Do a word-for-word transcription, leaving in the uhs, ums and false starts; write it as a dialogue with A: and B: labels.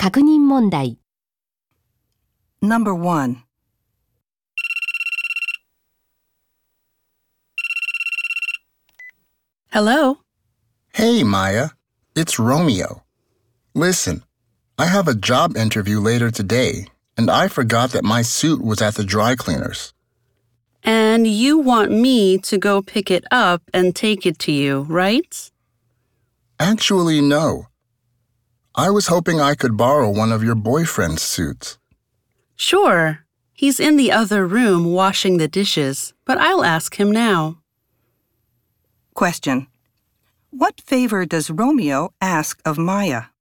A: 確認問題。
B: Number one.
C: Hello?
D: Hey, Maya. It's Romeo. Listen, I have a job interview later today, and I forgot that my suit was at the dry cleaners.
C: And you want me to go pick it up and take it to you, right?
D: Actually, no. I was hoping I could borrow one of your boyfriend's suits.
C: Sure. He's in the other room washing the dishes, but I'll ask him now.
B: Question. What favor does Romeo ask of Maya?